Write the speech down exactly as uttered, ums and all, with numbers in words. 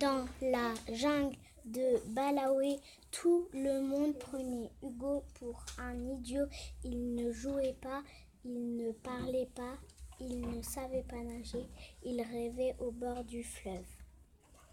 Dans la jungle de Balaoué, tout le monde prenait Hugo pour un idiot. Il ne jouait pas, il ne parlait pas, il ne savait pas nager. Il rêvait au bord du fleuve.